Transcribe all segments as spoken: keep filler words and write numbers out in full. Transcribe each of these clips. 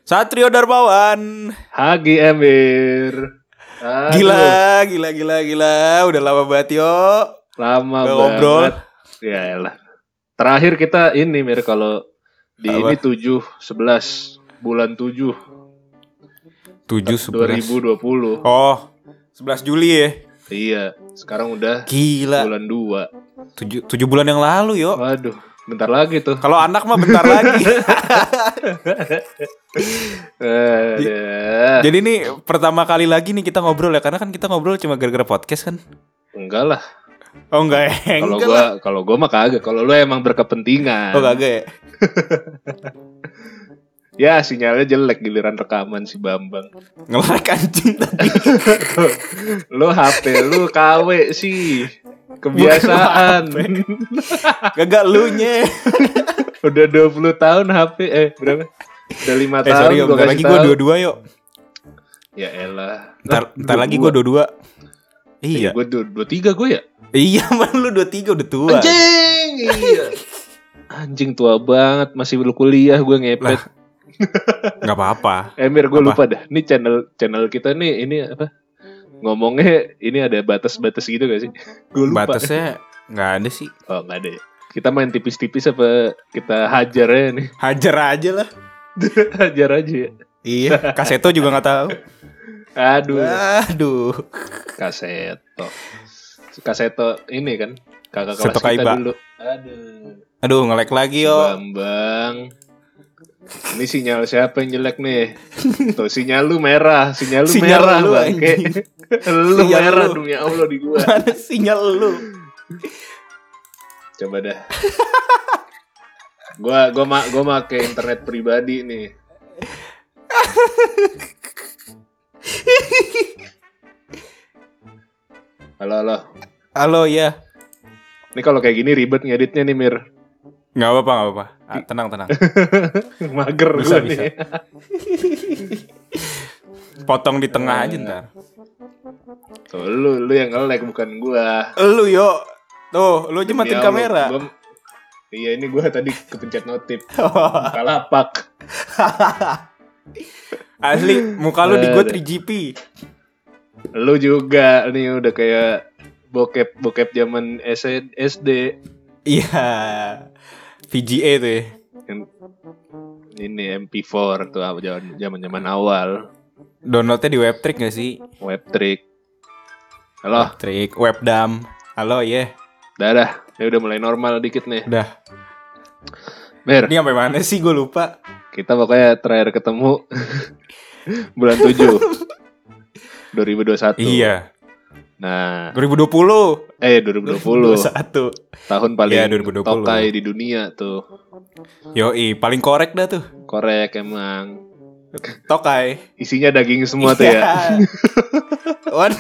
Satrio Darmawan. Hagi Emir. Aduh. Gila, gila, gila, gila. Udah lama banget yo. Lama Gak banget. ngobrol. Ya elah. Terakhir kita ini Mir kalau di Apa? ini tujuh sebelas bulan tujuh tujuh dua sebelas ribu dua puluh. Oh, sebelas Juli ya. Iya, sekarang udah Gila. bulan dua. tujuh, tujuh bulan yang lalu yo. Waduh, bentar lagi tuh. Kalau anak mah bentar lagi. Aduh. Jadi ini pertama kali lagi nih kita ngobrol ya. Karena kan kita ngobrol cuma gara-gara podcast kan. Enggak lah. Oh enggak ya. Kalau Enggak gua lah. kalau gua mah kagak. Kalau lu emang berkepentingan. Oh kagak ya. Ya sinyalnya jelek giliran rekaman si Bambang. Nge-like anjing tadi. Lu H P lu K W sih. Kebiasaan. Kagak lu nye. Udah dua puluh tahun H P eh berapa? Udah lima Eh tahun sorry yo, gua bentar kasih lagi gue tahu. dua-dua yuk. Ya elah. Ntar, ntar lagi gue dua-dua. Iya. Gue dua dua tiga gue ya. Iya man lu dua tiga udah tua. Anjing. Iya. Anjing tua banget masih belum kuliah gue ngepet. Lah. Gak apa-apa. Emir gue Apa? lupa dah. Ini channel channel kita nih ini apa? Ngomongnya ini ada batas-batas gitu gak sih? Gue lupa. Batasnya gak ada sih. Oh nggak ada. Ya? Kita main tipis-tipis apa kita hajar ya nih? Hajar aja lah. Hajar aja ya. Iya. Kaseto juga gak tahu. Aduh. Aduh. Kaseto. Kaseto ini kan kakak kelas Seto kita Kaiba. dulu. Aduh. Aduh nge-like lagi Si yo. Bambang. Ini sinyal siapa yang jelek nih? Tuh sinyal lu merah, sinyal lu Sinyal merah lu, bangke. anjing. Lu Sinyal merah lu. demi Allah di gua. Mana sinyal lu? Coba dah. Gua gua ma gua make internet pribadi nih. Halo halo. Halo ya. Ini kalau kayak gini ribet ngeditnya nih Mir. Gak apa-apa gak apa-apa. Ah, tenang tenang. Mager Bisa, gua bisa. nih. Potong di tengah aja ntar. Tuh lu lu yang nge-lag bukan gua. Lu yo. Tuh lu aja matiin Ya Allah, kamera. gua- Iya ini gua tadi kepencet notif. Kalapak. Asli muka lu di gue Aduh. three G P. Lu juga nih udah kayak bokep bokep zaman S D. Iya. V G A tuh ya. Yang- Ini M P four tuh zaman zaman zaman awal. Downloadnya di Webtrick gak sih? Webtrick. Halo, Webtrick, Webdam. Halo ya. dah dah. Ini udah mulai normal dikit nih. Udah. Mir, Ini sampai mana sih gue lupa. kita pokoknya terakhir ketemu bulan tujuh dua ribu dua puluh satu. Iya. Nah, dua ribu dua puluh. eh dua ribu dua puluh. dua ribu dua puluh satu. Tahun paling Iya, dua ribu dua puluh. tokai di dunia tuh. Yoi, paling korek dah tuh. Korek emang. Tokai. Isinya daging semua tuh ya. Waduh.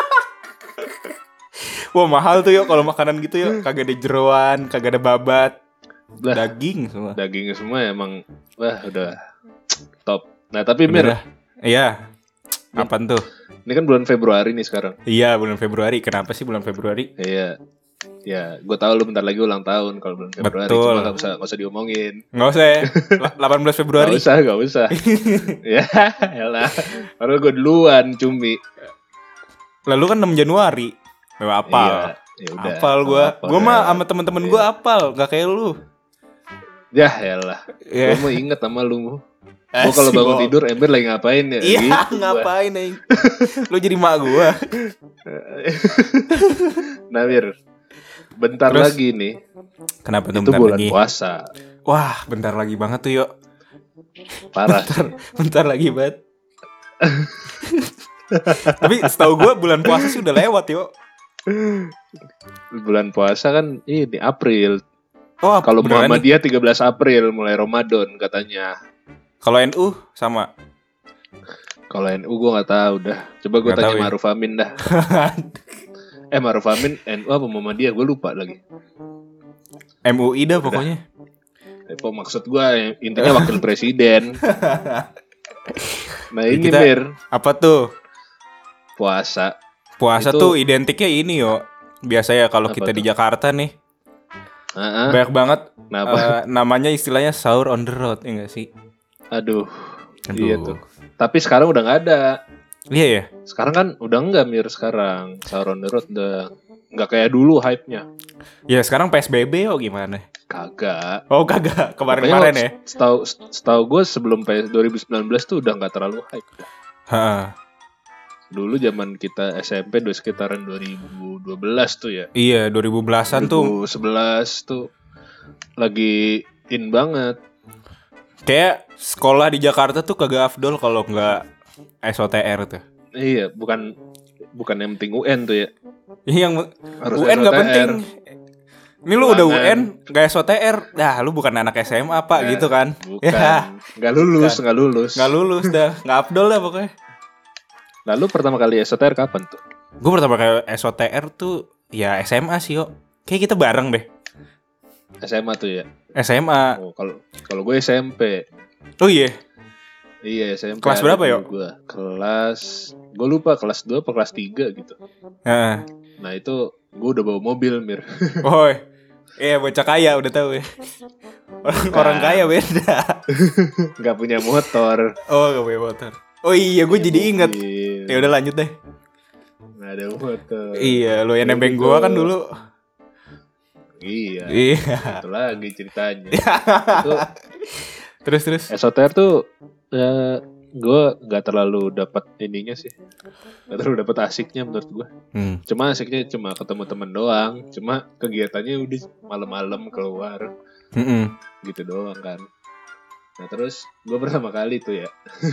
Wah mahal tuh yuk kalau makanan gitu yuk. Kagak ada jeroan, kagak ada babat. Lah, Daging semua. dagingnya semua emang wah udah top. Nah, tapi Mir, Udah. Iya. Apaan tuh? ini kan bulan Februari nih sekarang. Iya bulan Februari. Kenapa sih bulan Februari? Iya. Ya, gue tahu lu bentar lagi ulang tahun kalau bulan Februari. Betul. Cuma gak usah, gak usah diomongin. Nggak usah ya. La- delapan belas Februari. Gak usah, gak usah. Ya, elah. Padahal gue duluan, cumi. Lalu kan enam Januari. Gak apal. Iya, ya udah. Apal gue. Apal, Gue mah ya. sama temen-temen gue apal. Gak kayak lu. Ya, elah. Iya. Gue mau inget sama lu. Gue kalau bangun Asik, tidur, Ember lagi ngapain ya? Iya Gitu gua. ngapain nih? Lu jadi mak gue. Nah, Mir. Bentar Terus? lagi nih. Kenapa tuh Itu bentar bulan lagi? puasa. Wah bentar lagi banget tuh yuk. Parah. Bentar, bentar lagi banget. Tapi setahu gue bulan puasa sih udah lewat yuk. Bulan puasa kan ini April. Oh Kalau beneran nih? Muhammadiyah tiga belas April mulai Ramadan katanya. Kalau N U sama. Kalau N U gue nggak tahu dah. Coba gue Nggak tanya tahu ya. Ma'ruf Amin dah. Eh Ma'ruf Amin N U apa Muhammadiyah? Gue lupa lagi. M U I dah pokoknya. Apa maksud gue intinya wakil presiden. Nah Ya, ini kita- Mir Apa tuh? puasa. Puasa Itu- tuh identiknya ini yo. Biasa ya kalau Apa kita di tuh? Jakarta nih Heeh. banyak banget Kenapa? eh, namanya istilahnya sahur on the road ya nggak sih? Aduh. Aduh. Iya tuh. Tapi sekarang udah nggak ada. Iya ya. Sekarang kan udah nggak Mir sekarang. Sahur on the road udah nggak kayak dulu hype-nya. Ya sekarang P S B B oh gimana? Kagak. Oh kagak kemarin-kemarin ya. Setahu setahu gue sebelum P S dua ribu sembilan belas tuh udah nggak terlalu hype. Ha. Dulu zaman kita S M P udah sekitaran dua ribu dua belas tuh ya. Iya dua ribu belasan tuh. dua ribu sebelas tuh lagi in banget. Kayak sekolah di Jakarta tuh kagak afdol kalau nggak S O T R tuh. Iya, bukan bukan yang penting U N tuh ya. Iya yang Harus U N nggak S O T R. penting. Ini lu udah U Ulangan. N nggak S O T R, dah lu bukan anak S M A pak Ya, gitu kan? Bukan. Ya Nggak lulus, nggak lulus. nggak lulus dah, nggak afdol dah pokoknya. Lalu pertama kali S O T R kapan tuh? Gue pertama kali S O T R tuh ya S M A sih yo. Kayak kita bareng deh. S M A tuh ya. S M A. Oh, kalau kalau gue S M P. Oh iya. Iya, S M P. Kelas ada berapa, dulu Yo? Gua. Kelas gue lupa kelas dua atau kelas tiga gitu. Heeh. Nah, itu gue udah bawa mobil, Mir. Oh. Iya bocah kaya udah tahu ya. Orang, orang kaya beda. Gak punya motor. Oh gak punya motor. Oh iya gue jadi inget. Mobil. Ya udah lanjut deh. Nggak ada motor. Iya lu yang Jadi nembeng gua- gua kan dulu. Iya. Iya. Itu lagi ceritanya. Itu Terus terus. S O T R tuh ya gue nggak terlalu dapat ininya sih. Nggak terlalu dapat asiknya menurut gue. Hmm. Cuma asiknya cuma ketemu temen doang. Cuma kegiatannya udah malam-malam keluar Mm-mm. gitu doang kan. Nah terus gue pertama kali tuh ya.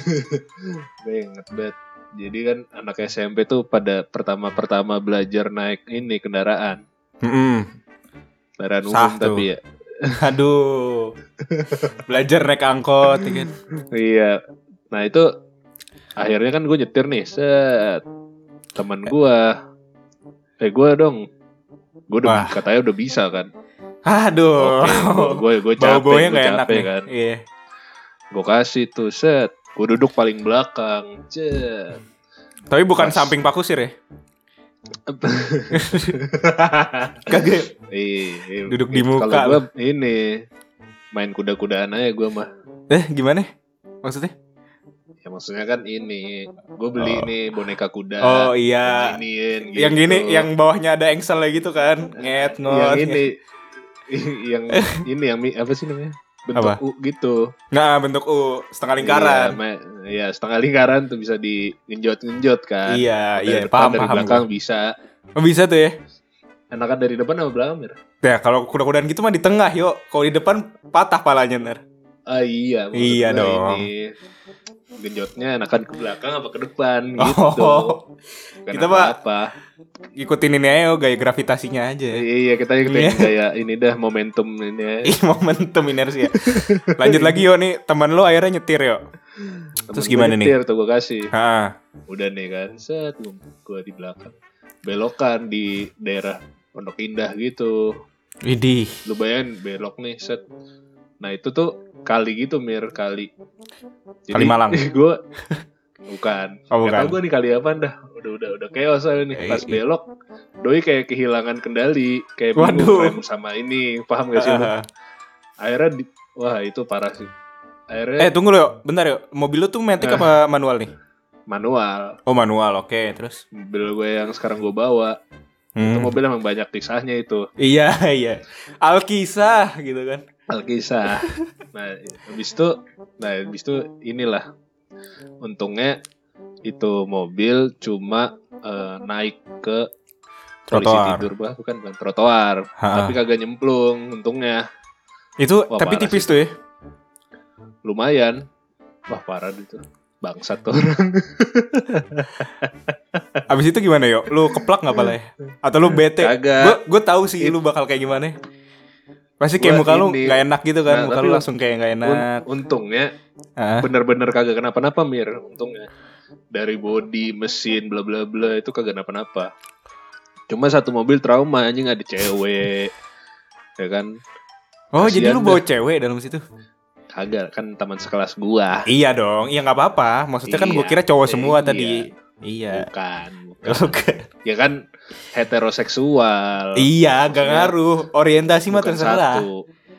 Gue inget banget. Jadi kan anak S M P tuh pada pertama-pertama belajar naik ini kendaraan. Mm-mm. Kendaraan umum Sah tuh. tapi ya. Aduh. Belajar naik angkot ya kan. Iya. Nah itu akhirnya kan gue nyetir nih. Set. Temen gue. Eh gue dong. Gue udah Wah. katanya udah bisa kan. Aduh. Gue gue capek. Bau-baunya Gue gak enak capek nih. kan. Iya. Gue kasih tuh set. Gue duduk paling belakang. Cet. Tapi bukan Pas. samping Pak Kusir ya. Kagak. Iya, Duduk di muka Kalau gue ini main kuda-kudaan aja gue mah. Eh gimana? Maksudnya? Ya maksudnya kan ini gue beli Oh. nih boneka kuda. Oh iya. Giniin, gitu. Yang gini, yang bawahnya ada engsel gitu kan, nget ngot. yang ini yang ini yang mi- apa sih namanya? Bentuk Apa? U gitu. Nggak bentuk U, setengah lingkaran. Iya, ma- ya setengah lingkaran tuh bisa digenjot-genjot kan. Iya, Dari iya, depan, paham dari paham. belakang gua. bisa. Oh, bisa tuh ya. Enakan dari depan sama belakang, Mir? Ya kalau kuda-kudaan gitu mah di tengah yuk. Kalau di depan patah palanya ntar. Ah iya, maksud Iya gua dong. Ini genjotnya enakan ke belakang apa ke depan gitu. Oh, Bukan kita mah- apa. ikutin ini aja yo, gaya gravitasinya aja. Iya, kita ikutin Iya. kayak ini dah momentum ini. ya. Ih momentum inersia. Lanjut lagi yo nih teman lu akhirnya nyetir yo. Terus Temen gimana gua nih? nyetir tuh gue kasih. Ah, Udah nih kan, set gue di belakang. Belokan di daerah Pondok Indah gitu. widih. Lu bayangin belok nih, set. Nah itu tuh kali gitu, Mir, kali. Kali Malang. Gue bukan. Oh, Gak tau bukan. gue nih kali apa dah. Udah udah udah chaos aja nih. Pas Eh, belok, doi kayak kehilangan kendali, kayak Waduh. bingung rem sama ini, paham gak sih lu? Ah. Akhirnya di, wah itu parah sih. Akhirnya Eh tunggu lo, bentar yo. Mobil lu tuh matic Eh. apa manual nih? manual. Oh manual, oke. Terus? Mobil gue yang sekarang gue bawa, itu Hmm. mobil emang banyak kisahnya itu. Iya iya. Alkisah gitu kan. Alkisah. Nah, habis itu, nah habis itu inilah. Untungnya itu mobil cuma eh, naik ke polisi Trotoar. tidur, bah, bukan bukan trotoar, Ha-ha. tapi kagak nyemplung. Untungnya Itu Wah, tapi parah tipis sih. tuh ya. lumayan. Wah parah itu, bangsat tuh orang. Abis itu gimana yo? Lu keplak nggak pala ya? Atau lu bete? Kagak. Gue gue tahu sih lu bakal kayak gimana. Pasti kayak Gua muka lu ini- nggak enak gitu kan? Nah, Muka tapi lu un- langsung kayak nggak enak. Un- untungnya Ah. bener-bener kagak kenapa-napa, Mir. Untungnya dari body, mesin, bla bla bla itu kagak kenapa-napa. Cuma satu mobil trauma, anjing, ada cewek, ya kan? Oh jadi Kasian lu bawa cewek dalam situ? Kagak, kan teman sekelas gua. Iya dong. Iya nggak apa-apa. Maksudnya kan gue Iya. kira cowok semua Iya. tadi. Iya. Bukan, bukan. Oke. Ya kan heteroseksual. Iya, gak Maksudnya ngaruh. Orientasi mah bukan terserah. satu.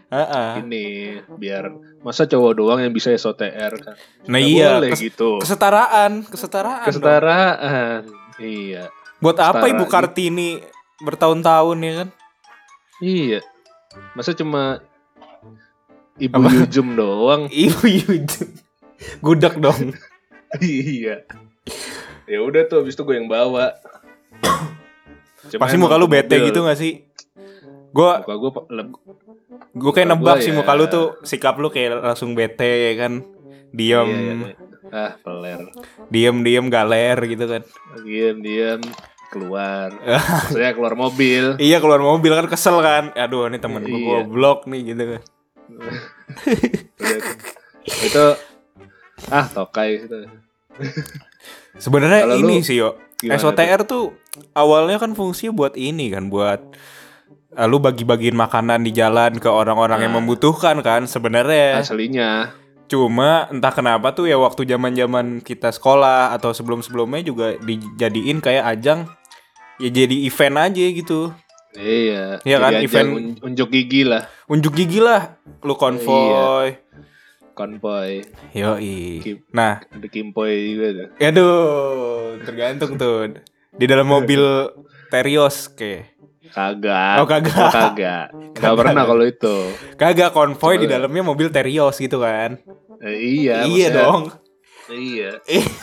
Heeh. ini biar masa cowok doang yang bisa S O T R kan. Nah Nggak iya, boleh kes- gitu. kesetaraan, kesetaraan. dong. Kesetaraan. Iya. Buat apa Setara Ibu gitu. Kartini bertahun-tahun ya kan? Iya. Masa cuma Ibu Apa? Yujum doang. Ibu Yujum. Gudak dong. Iya. Ya udah tuh abis itu gue yang bawa. Cuma Pasti emang muka lu tuh bete mobil, gitu gak sih? Gue Muka gue pa- leb- gue kayak muka nebak gua sih ya. muka lu tuh sikap lu kayak langsung bete ya kan. Diem, Iya, iya, iya. Ah, peler. diem, diem galer gitu kan. Diam, diam keluar. Maksudnya keluar mobil. Iya keluar mobil kan kesel kan. Aduh ini temen gue Iya. goblok nih gitu kan. Udah tuh. Itu ah tokai itu. Sebenarnya Kalau ini lu sih yo. gimana S O T R tuh awalnya kan fungsinya buat ini kan, buat uh, lu bagi-bagiin makanan di jalan ke orang-orang yang Nah. membutuhkan kan sebenarnya. Aslinya. Cuma entah kenapa tuh ya waktu zaman-zaman kita sekolah atau sebelum-sebelumnya juga dijadiin kayak ajang ya jadi event aja gitu. Iya. Iya kan, jadi ajang event- un- unjuk gigi lah. Unjuk gigi lah lu konvoy. Konvoy. Yoi. Kim- Nah, Ada Kimpoy juga tuh. aduh, tergantung tuh. Di dalam mobil Terios kayak. Kagak. Oh, kagak. Oh, kagak. Gak pernah kalau itu. Kagak konvoy Coba di lihat. dalamnya mobil Terios gitu kan. Eh, iya. iya maksudnya- dong. Iya.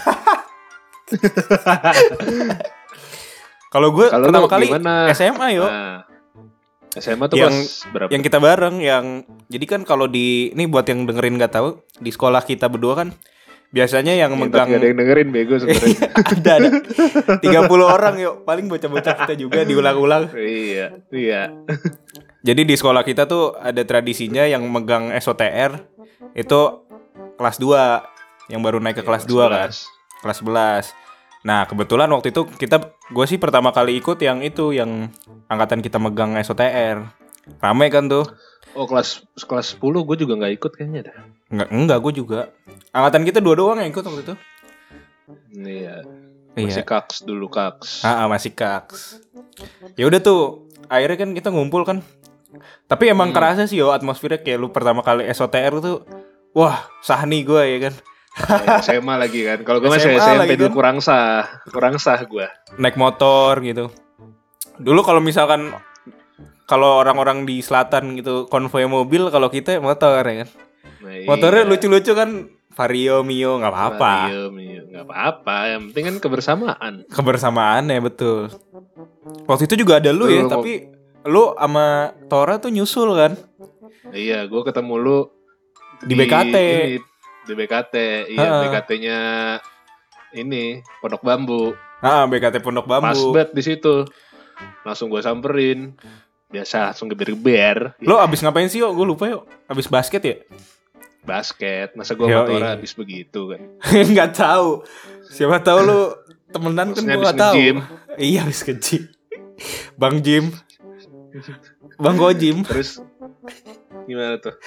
Kalau gue Kalau pertama lu kali gimana? S M A yo. Nah, S M A tuh Yang- pas berapa? Yang kita bareng yang jadi kan kalau di ini buat yang dengerin nggak tahu di sekolah kita berdua kan biasanya yang Ya, megang tapi ada yang dengerin bego sebenarnya. ada ada tiga puluh orang yuk paling bocah-bocah kita juga diulang-ulang. Iya, iya. Jadi di sekolah kita tuh ada tradisinya yang megang S O T R itu kelas dua yang baru naik ke kelas dua kan, kelas sebelas. Nah, kebetulan waktu itu kita gue sih pertama kali ikut yang itu yang angkatan kita megang S O T R. Rame kan tuh. Oh, kelas kelas sepuluh gue juga nggak ikut kayaknya dah. Enggak, enggak gue juga. Angkatan kita dua doang yang ikut waktu itu. Iya. Masih Iya. kaks dulu kaks. Ah, ah, masih kaks. Ya udah tuh, akhirnya kan kita ngumpul kan. Tapi emang Hmm. kerasa sih yo atmosfernya kayak lu pertama kali S O T R tuh, wah sahni gue ya kan. Eh, S M A lagi kan. Kalau gue masih S M A S M P lagi dulu kan. kurang sah, kurang sah gue. Naik motor gitu. Dulu kalau misalkan kalau orang-orang di selatan gitu konvoy mobil, kalau kita motor ya kan. Nah, Motornya iya. lucu-lucu kan, Vario, Mio, nggak apa-apa. Iya, iya, nggak apa-apa. Yang penting kan kebersamaan. Kebersamaan ya betul. Waktu itu juga ada lu Lu ya, mau- tapi lu sama Tora tuh nyusul kan Iya, gue ketemu lu di B K T. ini, di B K T. Iya, Ha-ha. B K T-nya ini Pondok Bambu. Ah, B K T Pondok Pas Bambu. banget di situ. Langsung gue samperin. Biasa langsung geber-geber. Lo abis ngapain sih yo? Gue lupa yuk. Abis basket ya? Basket. Masa gue Yoi. motor habis begitu kan. Nggak tahu. Siapa tahu lu temenan kan Maksudnya gue abis nggak tahu. nge-gym. Iya abis ke-gym. Bang Jim. Bang Gojim. Terus gimana tuh?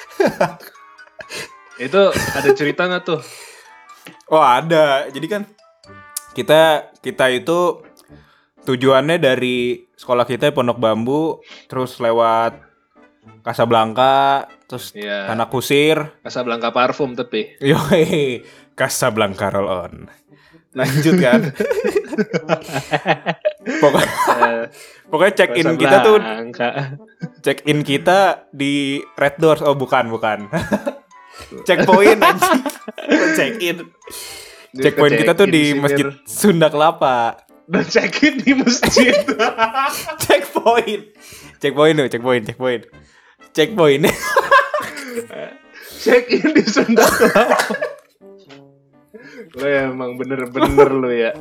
Itu ada cerita nggak tuh? Oh ada. Jadi kan kita kita itu tujuannya dari sekolah kita Pondok Bambu, terus lewat Casablanca, terus Iya. Tanah Kusir. Casablanca parfum tapi. Yoi, Casablanca roll on. Lanjut kan. Pokoknya, Eh, pokoknya check in kita tuh Casablanca. check in kita di Red Doors. Oh bukan bukan. Checkpoint anjing. Check in. Checkpoint kita tuh di Check-in Masjid sini. Sunda Kelapa. Dan check in di masjid. Checkpoint. Checkpoint tuh, checkpoint, checkpoint. Checkpoint. Check in di Sunda Kelapa. Lo emang bener-bener lo ya.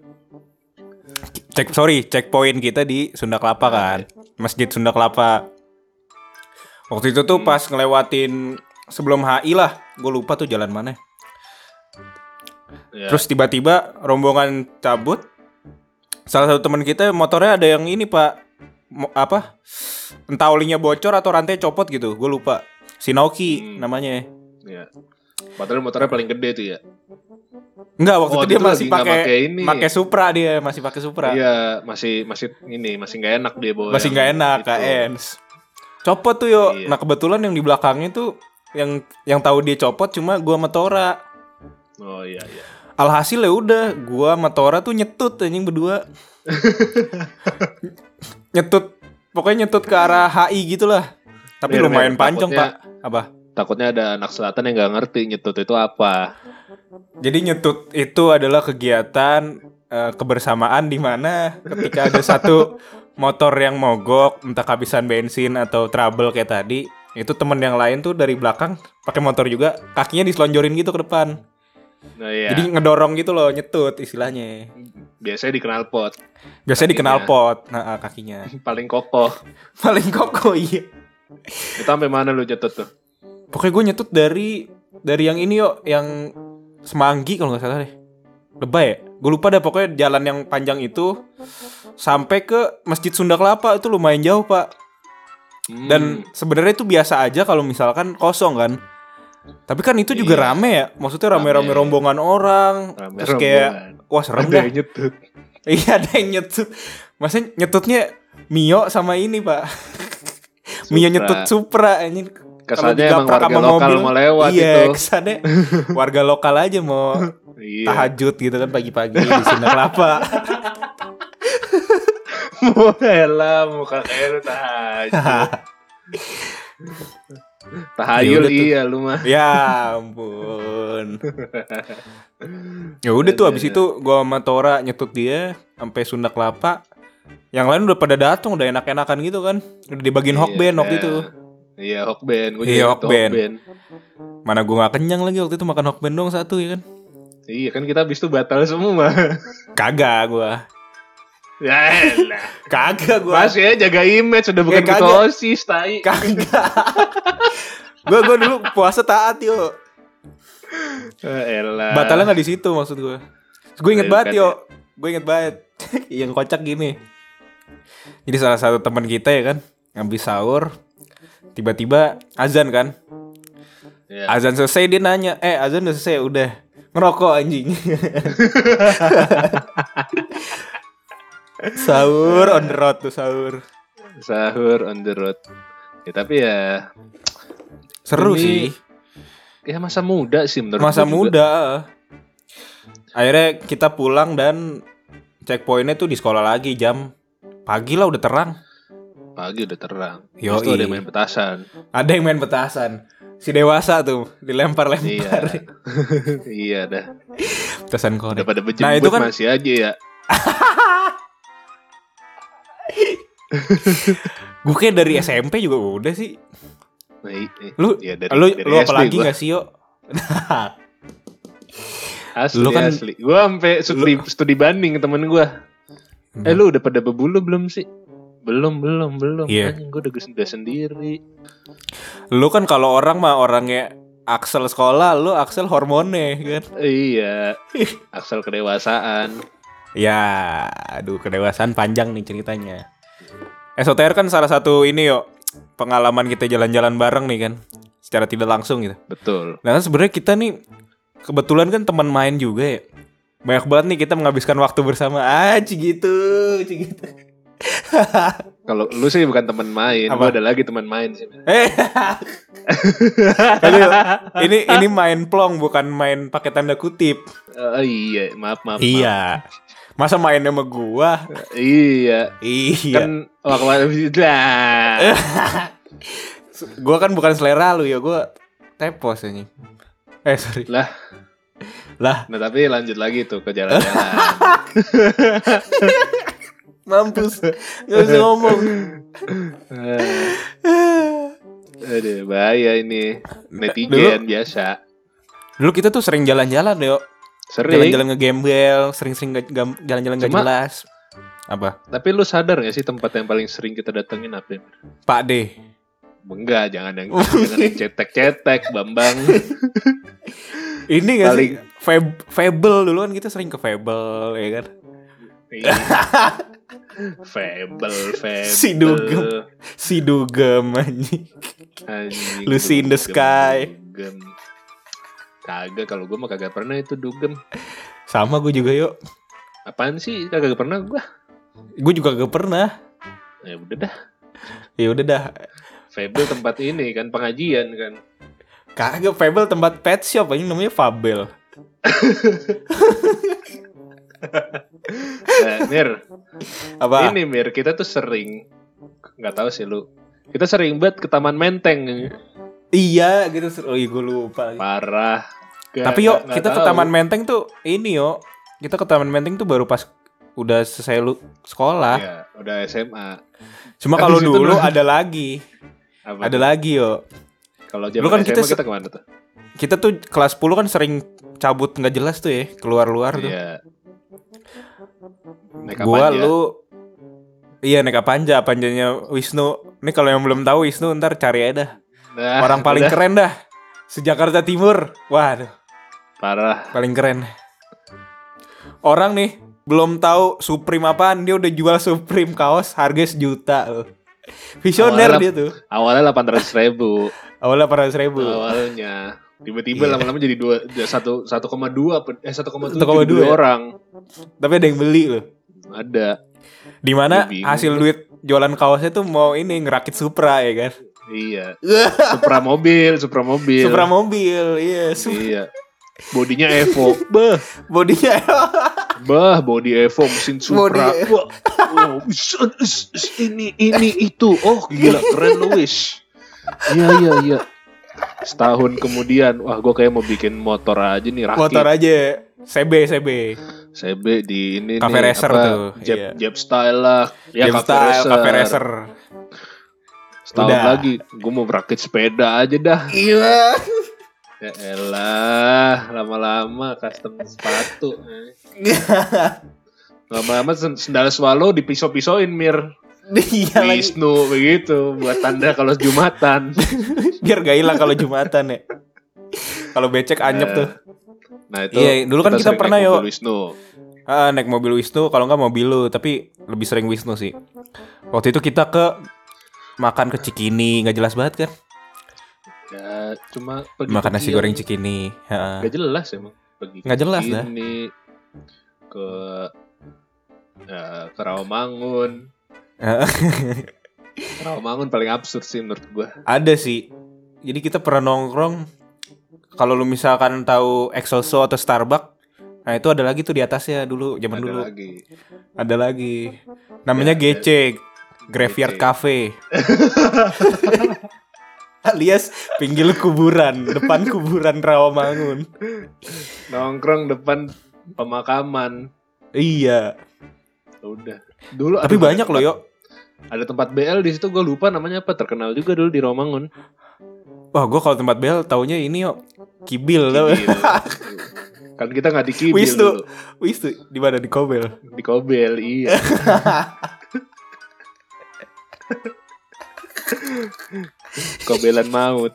Cek sorry, checkpoint kita di Sunda Kelapa kan. Masjid Sunda Kelapa. Waktu itu tuh pas ngelewatin sebelum H I lah, gue lupa tuh jalan mana. Ya. Terus tiba-tiba rombongan cabut. Salah satu teman kita motornya ada yang ini pak, Mo- apa? Entah olinya bocor atau rantai copot gitu, gue lupa. Shinoki Hmm. namanya. Ya. Padahal motornya paling gede tuh ya. Enggak, waktu Oh, itu dia itu masih lagi nggak pakai pakai ini. pakai Supra dia, masih pakai Supra. Iya, masih masih ini masih nggak enak dia bawa. Masih yang nggak enak, itu. K N. Copot tuh yo. Iya. Nah kebetulan yang di belakangnya tuh yang yang tahu dia copot cuma gua sama Tora. Oh iya iya. Alhasil ya udah, gua sama Tora tuh nyetut anjing berdua. Nyetut, pokoknya nyetut ke arah H I gitulah. Tapi Mir, lumayan mir, panjang, takutnya- Pak. Apa? Takutnya ada anak selatan yang nggak ngerti nyetut itu apa. Jadi nyetut itu adalah kegiatan eh, kebersamaan di mana ketika ada satu motor yang mogok, entah kehabisan bensin atau trouble kayak tadi, itu temen yang lain tuh dari belakang pakai motor juga, kakinya diselonjorin gitu ke depan. Nah iya. Jadi ngedorong gitu loh, nyetut istilahnya. Biasanya di knalpot. Biasanya di Kakinya. knalpot, nah kakinya. Paling kokoh. Paling kokoh iya. Itu sampai mana lu nyetut tuh? Pokoknya gue nyetut dari dari yang ini yo, yang Semanggi kalau nggak salah deh. Lebay ya? Gue lupa dah, pokoknya jalan yang panjang itu sampai ke Masjid Sunda Kelapa, itu lumayan jauh pak. Hmm. Dan sebenarnya itu biasa aja kalau misalkan kosong kan. Tapi kan itu juga Iya. rame ya. Maksudnya rame-rame Rame. rombongan orang. Rame Terus kayak rombongan. wah serem Ada dah. yang nyetut. Iya ada yang nyetut. Maksudnya nyetutnya Mio sama ini pak. Mio nyetut Supra anjing. Kalau Kesannya emang digaprak warga sama lokal mobil, mau lewat iya, itu. kesannya warga lokal aja mau Iya. tahajud gitu kan pagi-pagi di Sunda Kelapa. Mau elah muka kayak lu tahajud. Tahayul Ya udah tuh. iya lu mah. Ya ampun. Ya udah tuh abis itu gua sama Tora nyetut dia sampai Sunda Kelapa. Yang lain udah pada datang, udah enak-enakan gitu kan. Udah dibagiin hokben waktu itu. Iya hokben, gue Iya, juga hokben. hokben. Mana gua gak kenyang lagi waktu itu makan hokben dong satu ya kan. Iya kan kita habis itu batal semua. Kagak gua. Ya elah. Kagak gua. Masih ya jaga image udah bukan Ya, kagak. ketua OSIS tai. Kagak. Gua gua dulu puasa taat yo. Ya elah. Batalnya nggak di situ maksud gue. Gue inget Ayo, banget kan yo, gue inget banget. Yang kocak gini. Jadi salah satu teman kita ya kan, habis sahur, tiba-tiba azan kan. Ya. Azan selesai dia nanya, eh azan udah selesai udah ngerokok anjing. Sahur on the road tuh sahur. Sahur on the road. Ya tapi ya Seru Ini sih. ya masa muda sih menurut Masa gue juga. muda. Akhirnya kita pulang dan checkpointnya tuh di sekolah lagi jam pagi lah udah terang. Pagi udah terang. Yoi. Terus tuh ada yang main petasan. Ada yang main petasan. Si dewasa tuh Iya. dilempar-lempar. Iya dah. Petasan korek. Udah pada bejembut Nah, itu kan- masih aja ya. Gue kayak dari S M P juga udah sih. Nah, i- i- Lu ya dari, lu dari lu S D apalagi gua. gak sih yo? Asli Lu kan- asli. Gue sampai studi, studi banding temen gue. Eh lu udah pada bebulu belum sih? Belum belum belum. Iya. Anjing gue udah udah sendiri. Lu kan kalau orang mah orangnya Axel sekolah, lu Axel hormonnya kan. Iya. Aksel kedewasaan. Ya, aduh kedewasaan panjang nih ceritanya. S O T R kan salah satu ini yo pengalaman kita jalan-jalan bareng nih kan, secara tidak langsung gitu. Betul. Nah kan sebenarnya kita nih kebetulan kan teman main juga ya. Banyak banget nih kita menghabiskan waktu bersama. Ah, gitu, gitu. Kalau lu sih bukan teman main, Apa? gue ada lagi teman main sih. Eh, Aduh, ini ini main plong bukan main pakai tanda kutip. Oh iya, maaf maaf. maaf. Iya. Masa main sama gua? Iya. Iya. Kan waktu lah. Gua kan bukan selera lu ya, gua tepos ini. Eh, sorry. Lah. Lah, Nah tapi lanjut lagi tuh ke jalan-jalan. mampus. Gak bisa ngomong. Aduh bahaya ini. Netizen biasa. Dulu kita tuh sering jalan-jalan, yo. Sering. Jalan-jalan ngegembel, sering-sering gak- gam- jalan-jalan gak Cuma- jelas. Apa? Tapi lu sadar gak sih tempat yang paling sering kita datengin apa? Pak D. Enggak, jangan yang jangan yang cetek-cetek, Bambang. Ini gak Paling- sih? Fab- Fable dulu kan kita sering ke Fable, ya kan? Iya. Fable, Fable. Si Dugem. Si Dugem anjing. Anjing, Lucy in the Dugem, Sky. Dugem. Kagak, kalau gue mah kagak pernah itu Dugem. Sama gue juga yuk. Apaan sih? Kagak pernah gue. Gue juga gak pernah. Ya udah dah. Ya udah dah. Fable tempat ini kan pengajian kan. Kagak, Fable tempat pet shop, ini namanya Fabel. Nah, Mir. Apa? Ini Mir, kita tuh sering, nggak tahu sih lu. Kita sering banget ke Taman Menteng. Iya gitu. Oh iya gue lupa. Parah. Gak, Tapi yuk gak, kita gak ke tahu. Taman Menteng tuh ini yo. Kita ke Taman Menteng tuh baru pas udah selesai lu sekolah. Iya, udah S M A. Cuma Habis kalau itu dulu lu- ada lagi. Apa Ada tuh? lagi yo. Kalau Dulu zaman kan S M A kita kita, se- kemana tuh? Kita tuh kelas sepuluh kan sering cabut nggak jelas tuh ya, keluar-luar tuh. Iya. Naik Gua Apanja. lu iya naik Apanja, Apanjanya Wisnu. Ini kalau yang belum tahu Wisnu ntar cari aja dah. Nah, Orang paling udah. keren dah. Se-Jakarta Timur. Waduh, Parah. paling keren. Orang nih belum tahu Supreme apaan, dia udah jual Supreme kaos harga sejuta loh. Visioner Awalnya- dia tuh. Awalnya delapan ratus ribu. Awalnya delapan ratus ribu. Awalnya. Tiba-tiba Iya. lama-lama jadi dua, satu satu koma dua eh satu koma tujuh satu koma dua dua ya? orang. Tapi ada yang beli loh. Ada. Dimana Gua bingung hasil tuh. duit jualan kaosnya tuh mau ini ngerakit Supra ya kan. Iya. Supra mobil, Supra mobil. Supra mobil, iya. Supra. Iya. Bodinya Evo. Bah, Bodinya bah body Evo mesin Supra. Body- Wah. Oh, is- is- is- ini ini itu. Oh, gila keren lu, Wis. Iya iya iya. Setahun kemudian, wah gue kayak mau bikin motor aja nih, rakit. motor aja. C B C B. C B di ini Cafe nih, racer apa, tuh, Jab, iya. Jab style lah. Ya, Game Cafe style, racer. Cafe Racer. Setahun Udah. lagi, gue mau berakit sepeda aja dah. Iya. Ya elah, lama-lama custom sepatu. Lama-lama sen- sendal swallow dipisau-pisauin, Mir. Iya lagi. Wisnu begitu, buat tanda kalau Jumatan. Biar gak hilang kalau Jumatan ya. Kalau becek anyep tuh. Nah itu. Iya, dulu kan kita sering pernah, naik yo. mobil Wisnu. Ah, naik mobil Wisnu, kalau nggak mobil lu, tapi lebih sering Wisnu sih. Waktu itu kita ke makan ke Cikini, nggak jelas banget kan? Ya cuma pergi Makan nasi kecil. goreng Cikini. Heeh. Gak jelas emang. Pergi Nggak jelas dah. ini ke ya, ke Rawamangun. Rawamangun paling absurd sih menurut gua. Ada sih. Jadi kita pernah nongkrong. Kalau lu misalkan tahu Excelso atau Starbucks, nah itu ada lagi tuh di atasnya dulu, zaman Ada dulu. lagi. Ada lagi. Namanya Ya, G C, Graveyard G C. Cafe. Alias pinggir kuburan, depan kuburan Rawamangun. Nongkrong depan pemakaman. Iya. Udah. Dulu Tapi aduh, banyak ada loh, tempat- Yo. Ada tempat B L di situ, gue lupa namanya apa. Terkenal juga dulu di Rawamangun. Wah, gue kalau tempat bel taunya ini yo Kibil tau. Kibil. Kan kita nggak di Kibil Wisnu. dulu. Wis tuh di mana di Kobel. Di Kobel, iya. Kobelan maut.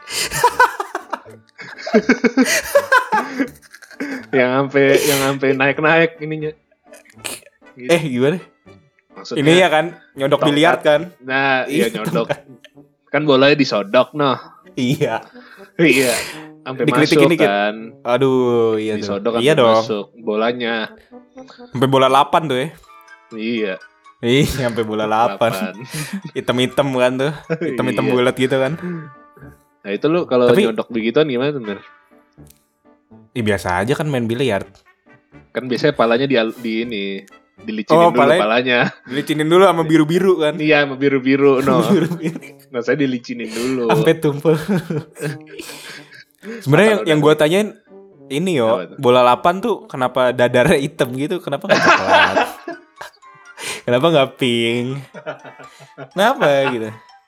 yang sampai yang sampai naik-naik ininya. Gitu. Eh, gimana? Maksudnya, Ini ya kan nyodok tongkat. biliar kan? Nah, iya Iya, nyodok. Kan bolanya disodok, noh. Iya. Iya. Sampai Dikritik masuk ini, Kit. kan. Aduh, iya tuh. Disodok Iya sampai dong. masuk bolanya. Sampai bola delapan tuh ya. Iya. Ih, sampai bola delapan. Delapan. Hitam-hitam kan tuh. Hitam-hitam Iya. bulat gitu kan. Nah, itu lu kalau Tapi- nyodok begituan gimana tuh, Mir? Ih, biasa aja kan main biliar. Kan biasanya palanya di, di ini dilicinin Oh, dulu palanya- palanya. Dilicinin dulu sama biru-biru kan. Iya, sama biru-biru, no. Biru-biru. Nah, saya dilicinin dulu. Sampai tumpul. Sebenarnya yang, Kalau yang udah- gue tanyain ini yo, Apa tuh? bola delapan tuh kenapa dadarnya hitam gitu? Kenapa nggak coklat? Kenapa nggak pink? Kenapa gitu?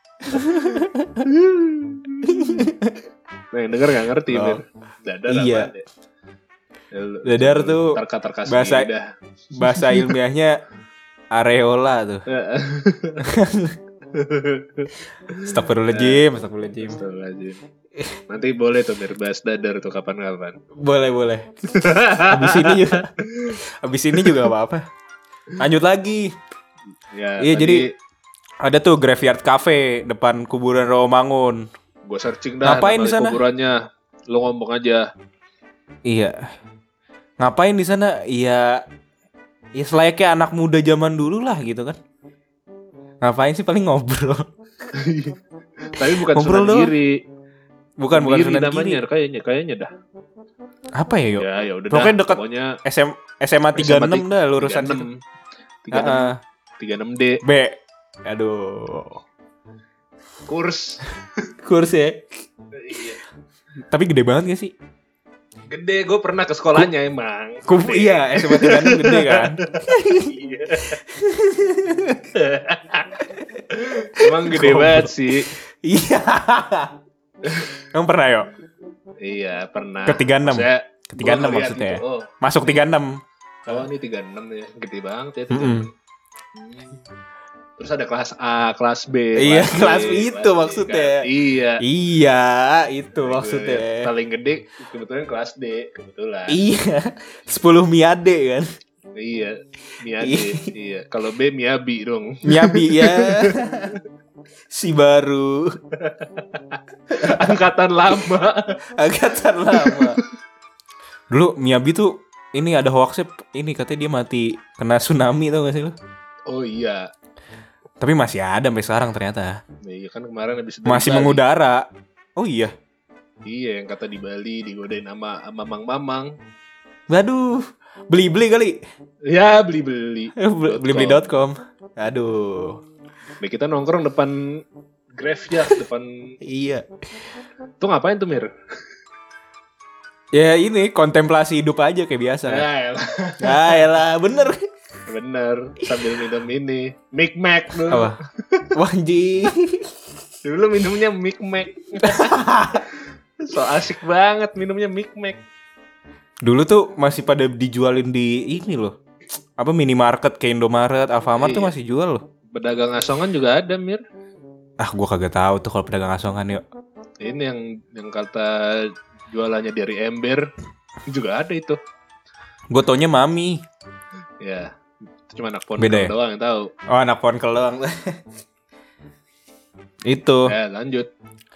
Nah, yang denger gak ngerti, Oh. Mir. Dadar Iya. apaan ya? Ya, lu- Dadar tuh terka-terka bahasa- sendiri dah. Bahasa ilmiahnya areola tuh. Astagfirullahaladzim, astagfirullahaladzim. Astagfirullahaladzim. Nanti boleh tuh Mir bahas dadar tuh kapan-kapan. Boleh, boleh. Habis ini juga. Habis ini juga apa-apa. Lanjut lagi. Ya, Iya, tadi jadi ada tuh Graveyard Cafe depan kuburan Rawamangun. gue searching dah Ngapain nama di sana? kuburannya. Lu ngomong aja. Iya. Ngapain di sana? Iya. Ya selayaknya anak muda zaman dulu lah gitu kan. Ngapain sih paling ngobrol. Tapi bukan Ngobrol Sunan doang. Giri. Bukan bukan Giri Sunan namanya Giri. kayaknya, kayaknya dah. Apa ya, Yo? Ya, ya udah Pokoknya dah. dekat Pokoknya S M S M A tiga puluh enam dah lurusan situ. tiga puluh enam Heeh. tiga puluh enam D B. Aduh. kurs. Kurs ya. Iya. Tapi gede banget gak sih? Gede, gue pernah ke sekolahnya emang. Ku, Gede. iya, S M A tiga puluh enam gede kan? Iya. Emang gede Goblok. banget sih. Iya. Kamu pernah, Yo? Iya, pernah. Ke tiga puluh enam. Maksudnya, Ke tiga puluh enam gua ngeliat maksudnya. gitu, oh, Masuk tiga puluh enam. oh ini tiga puluh enam ya. Gede banget ya. Mm-mm. Hmm. Terus ada kelas A, kelas B. Iya, B, kelas B itu kelas C, maksudnya. kan. Iya. Iya, itu Yang maksudnya. paling gede kebetulan kelas D, kebetulan. Iya. sepuluh Miade kan? Iya, Miade. Iya. Kalau B Miyabi dong. Miyabi ya. Si baru. Angkatan lama. Angkatan lama. Dulu Miyabi tuh ini ada hoaxnya, ini katanya dia mati kena tsunami, tau gak sih lu? Oh iya. Tapi masih ada sampai sekarang ternyata. Iya kan kemarin habis dari Masih Bali. mengudara. Oh iya. Iya, yang kata di Bali digodain sama Mamang-mamang. Waduh. Beli-beli kali. Ya, beli-beli. Beli-beli dot com. Aduh. Nah, kita nongkrong depan Graveyard, depan. Iya. Tuh ngapain tuh, Mir? Ya ini kontemplasi hidup aja kayak biasa. Ya, elah. Ah, elah, bener. Bener, sambil minum ini Mic Mac dulu. Apa? Wanji. Dulu minumnya Mic Mac. So asik banget minumnya Mic Mac. Dulu tuh masih pada dijualin di ini loh. Apa minimarket kayak Indomaret, Alfamart tuh Iya. masih jual loh. Pedagang asongan juga ada, Mir. Ah, gua kagak tahu tuh kalau pedagang asongan yuk. Ini yang yang kata jualannya dari ember juga ada itu. Gue taunya Mami. Ya, itu cuma anak pondok Beda ya? doang yang tahu. Oh, anak ponkel doang. Itu. Ya, lanjut.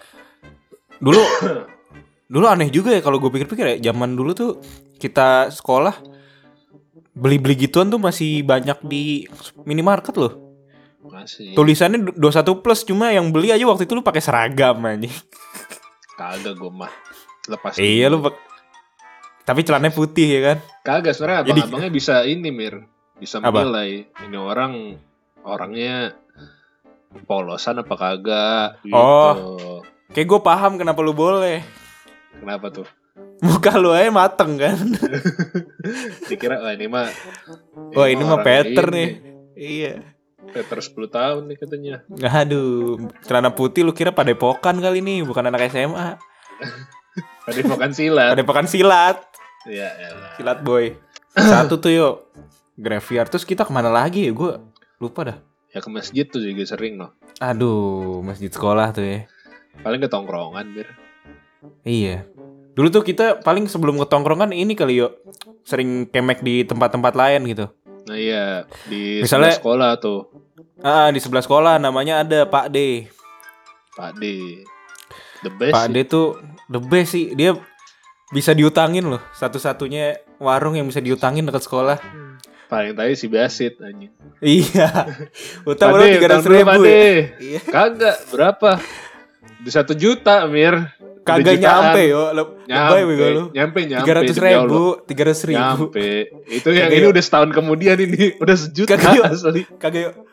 Dulu dulu aneh juga ya kalau gue pikir-pikir ya, zaman dulu tuh kita sekolah beli-beli gituan tuh masih banyak di minimarket loh. Masih. Tulisannya dua puluh satu plus, cuma yang beli aja waktu itu lu pakai seragam aja. Kagak gue mah. Lepas. Iya dulu. lu pak- tapi celananya putih ya kan? Kagak, sebenarnya Jadi- abang-abangnya bisa ini, Mir. Bisa Apa? menilai ini orang orangnya polosan apa kagak gitu. Oh. Kayak gue paham kenapa lu boleh. Kenapa tuh? Muka lu aja mateng kan? Dikira wah ini mah Wah ini mah orang Peter ini. nih. Iya. Peter sepuluh tahun nih katanya. Aduh, celana putih lu kira padepokan kali nih, bukan anak S M A. Tadi makan silat. Padepokan silat. Ya elah. Silat boy. Satu tuh yuk Graveyard. Terus kita kemana lagi ya? Gue lupa dah. Ya ke masjid tuh juga sering loh. Aduh, masjid sekolah tuh ya. Paling ke tongkrongan, Bir. Iya. Dulu tuh kita paling sebelum ke tongkrongan ini kali yuk, sering kemek di tempat-tempat lain gitu. Nah iya, di Misalnya- sebelah sekolah tuh, Ah, di sebelah sekolah namanya ada Pak D. Pak D. The best. Pak D sih. tuh the best sih. Dia bisa diutangin loh. Satu-satunya warung yang bisa diutangin dekat sekolah. Paling tadi si Basit anjing. Iya. Utang Pak baru D, tiga ratus utang dulu, ribu Pak D. ya. Iya. Kagak, berapa? Di satu juta, Mir. Kagak Udah jutaan. nyampe yo. Le- Lebay bego lu. Nyampe, nyampe. Tiga ratus demi Allah. ribu, tiga ratus ribu. Nyampe. Itu yang Kagak ini yuk. udah setahun kemudian ini. Udah sejuta Kagak yuk. asli. Kagak yuk.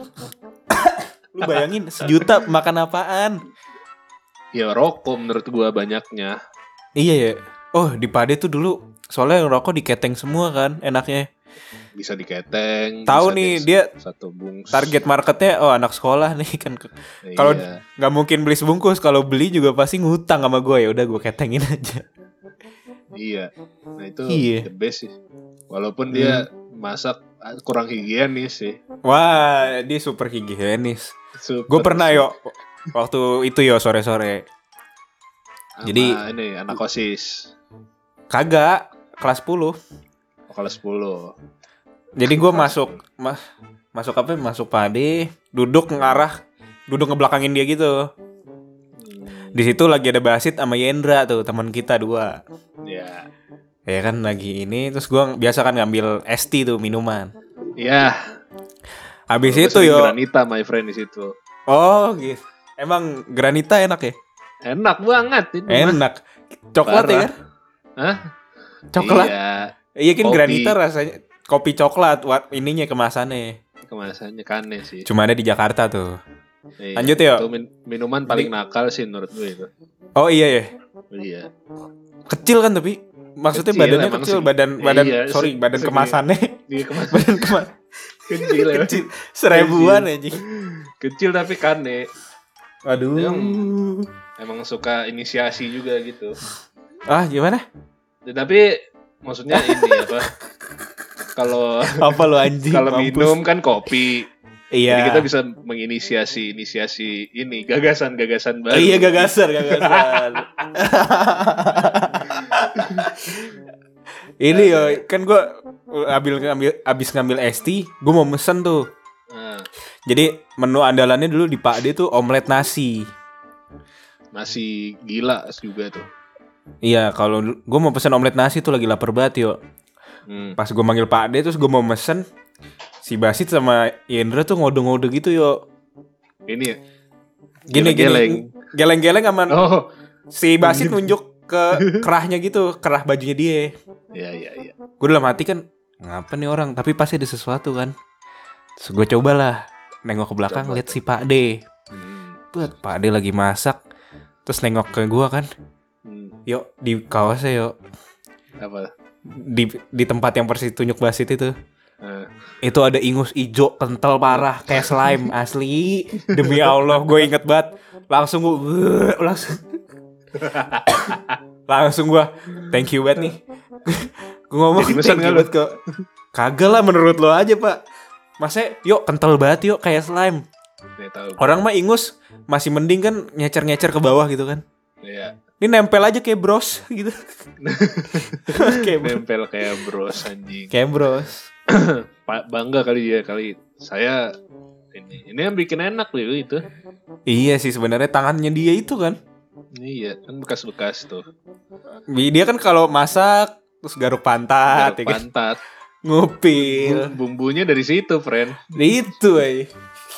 Lu bayangin sejuta makan apaan? Ya rokok menurut gua banyaknya. Iya ya. Oh di Pade tuh dulu soalnya yang rokok diketeng semua kan enaknya. Bisa diketeng. Tahu bisa nih, di- dia satu bungkus. Target marketnya oh anak sekolah nih kan. Iya. Kalau nggak mungkin beli sebungkus, kalau beli juga pasti ngutang sama gue, ya udah gue ketengin aja. Iya. Nah itu Iya. the best sih. Walaupun dia masak kurang higienis sih. Wah dia super higienis. Super Gue pernah sih. yo waktu itu yo sore-sore. Sama jadi- ini anak OSIS. Kagak kelas sepuluh. Oh, kelas sepuluh. Jadi gue masuk mas masuk apa? Masuk Pade, duduk ngarah, duduk ngebelakangin dia gitu. Hmm, Di situ lagi ada Basit sama Yendra tuh teman kita dua. ya. Ya kan lagi ini terus gue biasa kan ngambil es teh tuh minuman. Ya. Habis Gua itu sering yo. Granita my friend di situ. Oh gitu. Emang granita enak ya? Enak banget itu. mah. Enak. Coklat ya Parah. kan? Hah? Coklat. Iya, Iya kan Kopi. granita rasanya kopi coklat, wat ininya kemasannya. kemasannya kane sih. Cuma ada di Jakarta tuh. Iya, Lanjut ya. Itu min- minuman paling nakal sih menurut gue itu. Oh iya ya. Iya. Kecil kan tapi maksudnya Kecil, badannya emang kecil, segi- badan badan iya, sorry, se- badan segi- kemasannya. Dia kemasan badan kemas kecil ya. kecil. Seribuan aja. Kecil tapi kane. Aduh. Yang- Emang suka inisiasi juga gitu. Ah, gimana? Tapi maksudnya ini apa? Kalau Apa lu anjing? kalau mampus. minum kan kopi. Iya. Jadi kita bisa menginisiasi inisiasi ini gagasan-gagasan Oh, baru. iya gagasan, gagasan. Ini yo, kan gue ambil ngambil abis ngambil es tea, gue mau mesen tuh. Nah, Jadi menu andalannya dulu di Pak D tuh omelet nasi. masih gila juga tuh. Iya, kalau gue mau pesen omelet nasi tuh lagi lapar banget yo. Hmm. Pas gue manggil Pak D terus gue mau mesen, si Basit sama Indra tuh ngode-ngode gitu yo. Ini ya. Gini Geleng-geleng. gini, geleng-geleng aman. Oh, Si Basit nunjuk ke kerahnya gitu, kerah bajunya dia. iya iya iya. Gue dalam hati kan, ngapa nih orang? Tapi pasti ada sesuatu kan. Terus gue cobalah nengok ke belakang, Coba. lihat si Pak D. Hmm. Buat Pak D lagi masak. Terus nengok ke gue kan, Hmm. yuk di kaosnya yuk, Apa? di di tempat yang persis tunjuk Basit itu. Nah, Itu ada ingus ijo kental parah kayak slime asli. Demi Allah gue inget banget. Langsung gue langsung langsung gue thank you banget nih. Gue ngomong Jadi pesan thank nggak you lu? banget kok. Kagak lah menurut lo aja pak. Masa yuk kental banget yuk kayak slime. nih tahu. Orang mah ingus masih mending kan nyecer-nyecer ke bawah gitu kan. Iya. Ini nempel aja kayak bros gitu. Kayak bro- Nempel kayak bros anjing. kayak bros. Pak bangga kali dia kali. Saya ini ini yang bikin enak loh itu. Iya sih sebenarnya tangannya dia itu kan. Iya, kan bekas-bekas tuh. Dia kan kalau masak terus garuk pantat, Garuk ya kan? pantat. Ngupil. Bum- Bumbunya dari situ, friend. Itu aja.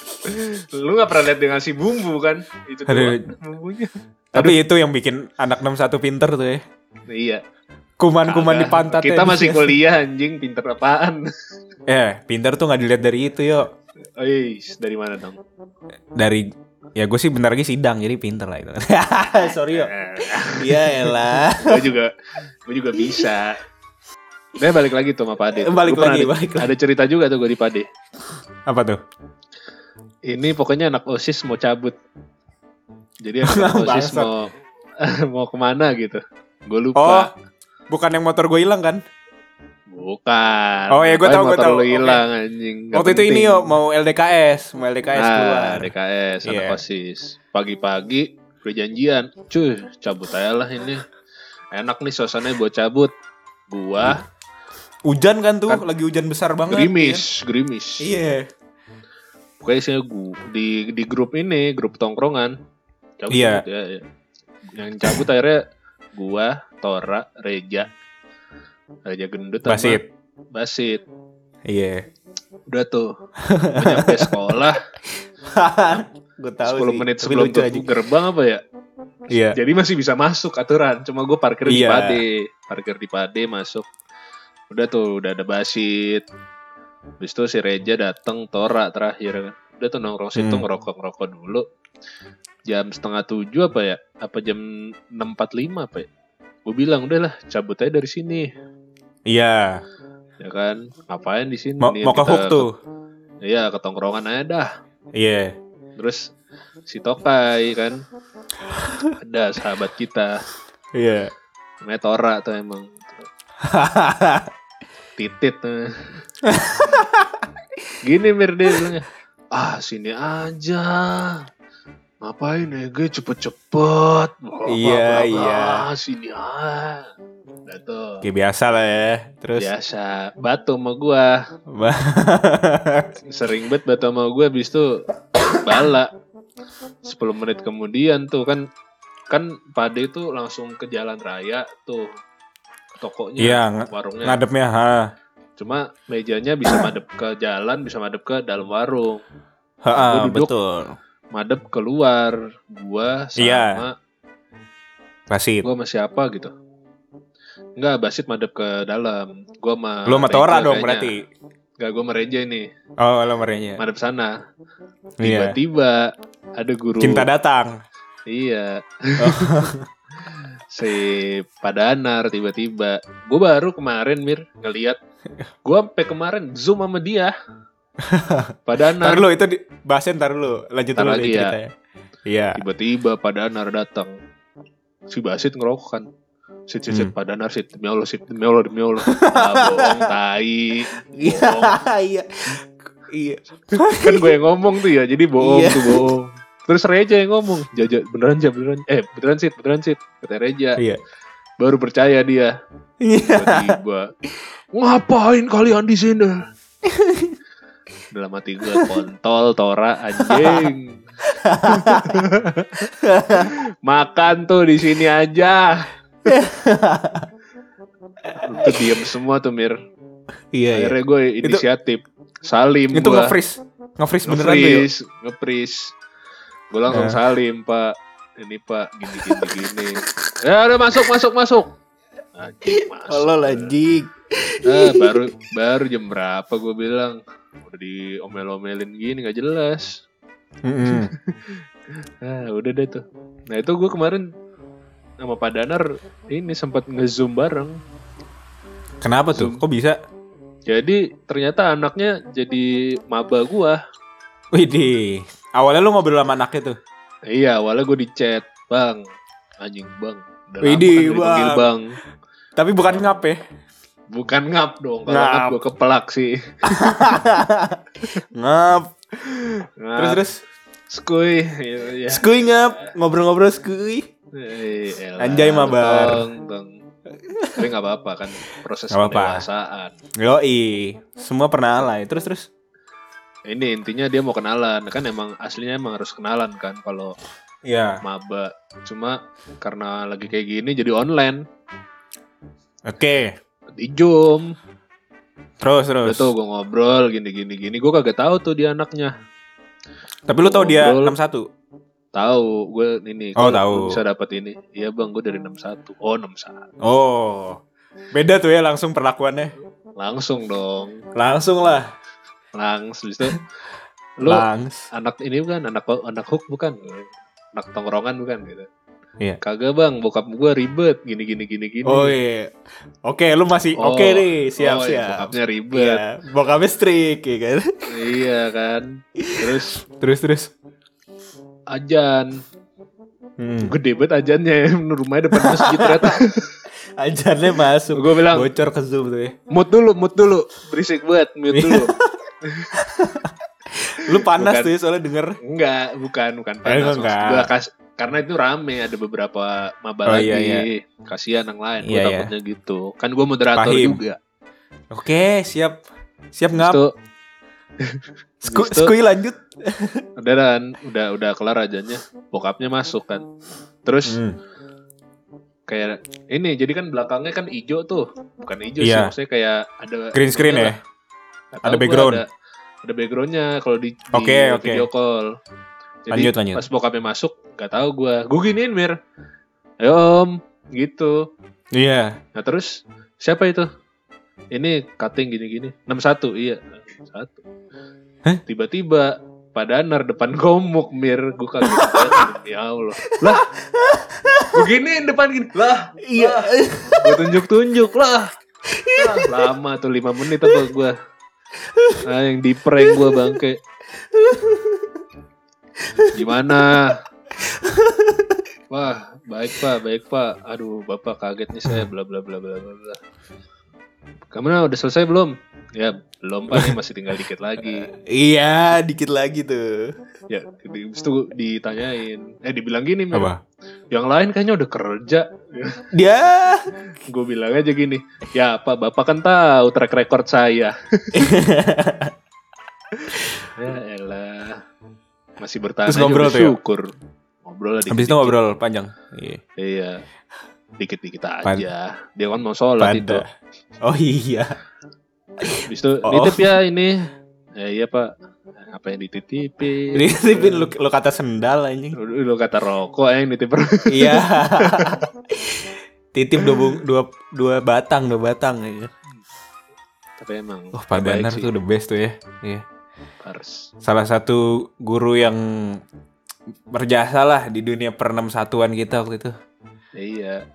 Lu gak pernah lihat dengan si bumbu kan? Itu Aduh. doang bumbunya. Tapi itu yang bikin anak enam satu pinter tuh ya. Iya. Kuman-kuman di Kagak. pantat. Kita masih kuliah anjing, pinter apaan? Eh, pinter tuh nggak dilihat dari itu yo. Ois, dari mana dong? Dari ya gue sih bentar lagi sidang jadi pinter lah itu. Sorry yo. Iya elah. Gue juga, gue juga bisa. Gue balik lagi tuh sama Pade. Balik Gua pernah lagi, ada, balik lagi. ada cerita juga tuh gue di Pade. Apa tuh? Ini pokoknya anak OSIS mau cabut. Jadi anak OSIS Bangsat. mau mau kemana gitu. Gue Oh, lupa. bukan yang motor gue hilang kan? Bukan. Oh, ya, gua Ngapain tahu, gua motor tahu. lu Oke. hilang anjing. Nggak Waktu itu penting. ini yo mau L D K S, mau L D K S keluar. Nah, D K S, anak Iya. OSIS. Pagi-pagi udah janjian. Cuy, cabut aja lah ini. Enak nih suasananya buat cabut. Gua Hujan kan tuh, Kan- lagi hujan besar banget. gerimis, gerimis. Iya. Pokoknya isinya gua di di grup ini, grup tongkrongan. Cabut, Iya. cabut, ya, ya. Yang cabut akhirnya gua, Tora, Reja. Reja gendut sama Basit. Basit. Iya. Udah tuh. Gua nyampe sekolah Gue tahu sepuluh sih. menit Tapi sebelum lucu aja. tutup gerbang apa ya? Iya. Jadi masih bisa masuk aturan. Cuma gue parkir di Iya. Pade. Parkir di Pade masuk. Udah tuh, udah ada Basit. Habis itu si Reja dateng, Tora terakhir. Udah tuh nongkrong situ Hmm. ngerokok-ngerokok dulu. Jam setengah tujuh apa ya? Apa jam enam empat puluh lima apa ya? Gue bilang udahlah cabut aja dari sini. Iya. Ya kan? Ngapain di sini? Mau Nih, mau ke kita hook tuh. Iya, ke tongkrongan aja dah. Iya. Terus si Tokai kan. Ada sahabat kita. Iya. Namanya Tora tuh emang. Titit tuh. Gini Mir dia bilangnya, ah sini aja, ngapain ya gue cepet-cepet. Blah, Iya, blah, blah, iya. blah. Sini aja. Udah tuh. Kayak biasa lah ya. Terus Biasa batu sama gua. Sering banget batu sama gua. Abis itu bala. sepuluh menit kemudian tuh kan, kan Pade itu langsung ke jalan raya tuh, ke tokonya, Iya, ng- warungnya. ngadepnya ha. Cuma mejanya bisa madep ke jalan, bisa madep ke dalam warung. Ha, Gua duduk. betul. madep keluar. Gua sama Iya. Basit. Gua sama siapa gitu. Enggak, Basit madep ke dalam. Gua sama Lu sama Reja Tora dong kayaknya. berarti. Enggak, gua sama Reja ini. Oh, lu merenya. Madep sana. Iya. Tiba-tiba ada guru. Cinta datang. Iya. Oh. Si Padanar tiba-tiba. Gue baru kemarin Mir ngeliat. Gue sampai kemarin zoom sama dia. Padanar. Ntar lu itu di, bahasin ntar lu. Lanjut Ntar dulu lagi nih ya. ceritanya. Iya. Tiba-tiba Padanar datang. Si Basit ngerokok kan. Sit, sit, sit, Hmm. Padanar, sit, demi Allah, sit, demi Allah, demi Allah. Ah, bohong, tai. Iya. Bohong. Iya. Iya. Kan gue yang ngomong tuh ya, jadi bohong Iya. tuh, bohong. Terus Reja yang ngomong, Jaja, beneran Jaja, beneran. Eh, beneran sit, beneran sit. Kata Reja. Iya. Baru percaya dia. Iya. Tiba-tiba, ngapain kalian di sini? Dalam hati gue, kontol, Tora, anjing. Makan tuh di sini aja. Itu diem semua tuh Mir. Iya. Akhirnya gue inisiatif. Salim Itu gue. nge-freeze. Nge-freeze beneran tuh ya. Nge-freeze, nge-freeze. Gue langsung Nah. salim, Pak. Ini Pak, gini gini gini. Ya udah masuk masuk masuk. Anjing masuk. Halo anjing. Ah, baru baru jam berapa gue bilang. Udah diomel-omelin gini gak jelas. Mm-mm. Ah, udah deh tuh. Nah, itu gue kemarin sama Pak Danar ini sempat nge-zoom bareng. Kenapa tuh? Zoom. Kok bisa? Jadi ternyata anaknya jadi maba gua. Widih. Awalnya lu ngobrol sama anaknya tuh. Iya, awalnya gue di chat, Bang. Anjing, Bang. Udah lama Widih, kan gak dipanggil Bang. Bang. Tapi bukan ngap ya. Bukan ngap dong, kalau Ngap. ngap gue kepelak sih. Ngap. Ngap. Terus terus. Skuy. Iya, iya. Skuy ngap. Ngobrol-ngobrol skuy. Eh, elah, Anjay, mabar. tong, tong. Tapi gak apa-apa kan, proses Gak apa-apa. pendewasaan. Yoi. Semua pernah alay. Terus terus. Ini intinya dia mau kenalan. Kan emang aslinya emang harus kenalan kan kalau Iya. maba. Cuma karena lagi kayak gini jadi online. Oke. Di Zoom. Terus Udah terus. tuh gue ngobrol gini-gini gini. Gue kagak tahu tuh dia anaknya. Tapi lu tahu dia Ngobrol. enam satu. Tahu gue ini. Oh, kalau tahu. lu bisa dapat ini. Iya bang, gue dari enam satu. Oh enam satu. Oh. Beda tuh ya langsung perlakuannya. Langsung dong. Langsung lah. Langsung itu. Lu Langs. anak ini bukan anak anak hook bukan? Anak tongkrongan bukan gitu. Iya. Kagak bang, bokap gue ribet gini gini gini gini. Oh iya. Oke, lu masih Oh, oke nih, siap oh, iya, siap. bokapnya ribet. Iya, bokapnya strict ya kan. Iya kan. Terus Terus terus. ajan. Hmm. Gede banget ajannya. Rumahnya depan masjid ternyata. Ajarnya masuk. Gue bilang, Bocor ke Zoom tuh ya. mute dulu, mute dulu. Berisik banget, mute dulu. Lu panas Bukan. tuh ya soalnya denger. Enggak, bukan, bukan Eh, panas. enggak. Maksud gua kas- karena itu rame, ada beberapa maba Oh, lagi. iya, iya. Kasihan yang lain, gue Iya, iya. takutnya gitu. Kan gue moderator Pahim. juga. Oke, siap. Siap Terus ngap. tuh, Sku, habis itu- skui lanjut. udah dan udah udah kelar ajannya. Bokapnya masuk kan. Terus Hmm. kayak ini, jadi kan belakangnya kan hijau tuh. Bukan hijau sih, Iya. maksudnya kayak ada Green screen ininya ya. lah. Nggak Ada tahu gua background. Ada, ada backgroundnya kalau di, di Oke, oke. video call. Jadi Lanjut, lanjut. pas bokapnya masuk, nggak tahu gue. Gue giniin Mir, ayo om, gitu. Iya. Nah terus siapa itu? Ini cutting gini-gini. enam satu, iya. enam satu. Hah? Tiba-tiba Pak Danar depan komuk Mir, gue kaget banget. Ya Allah. Lah. Gue giniin depan gini. Lah. Iya. Gue tunjuk-tunjuk lah. Lah, lama tuh lima menit apa gue. Nah, yang di prank gue bangke. Gimana? Wah, baik pak, baik pak. Aduh, bapak kaget nih saya, bla bla bla bla bla. bla. Kamu udah selesai belum? Ya, belum pak, nih masih tinggal dikit lagi. Iya, dikit lagi tuh. Ya, di, habis itu ditanyain. Eh, dibilang gini, Mir. Apa? Yang lain kayaknya udah kerja. Dia. Gue bilang aja gini, ya pak, bapak kan tahu track record saya. Ya elah. Masih bertahan Terus aja ngobrol udah tuh ya? syukur. Ngobrol lah Habis itu dikit-dikit. ngobrol panjang. Iya. Iya. Dikit-dikit aja. Pan- Dia kan mau sholat itu. Pada. Oh iya. Habis itu Oh. nitip ya ini. Ya iya pak. apa yang dititipin? Dititipin lu, lu kata sendal anjing. Lu, lu kata rokok yang dititip. Iya. Titip dua, bung, dua dua batang, dua batang ya. Tapi emang Oh, Pak Danar tuh the best tuh ya. Iya. Pars. Salah satu guru yang berjasa lah di dunia per enam satuan kita waktu itu. Iya.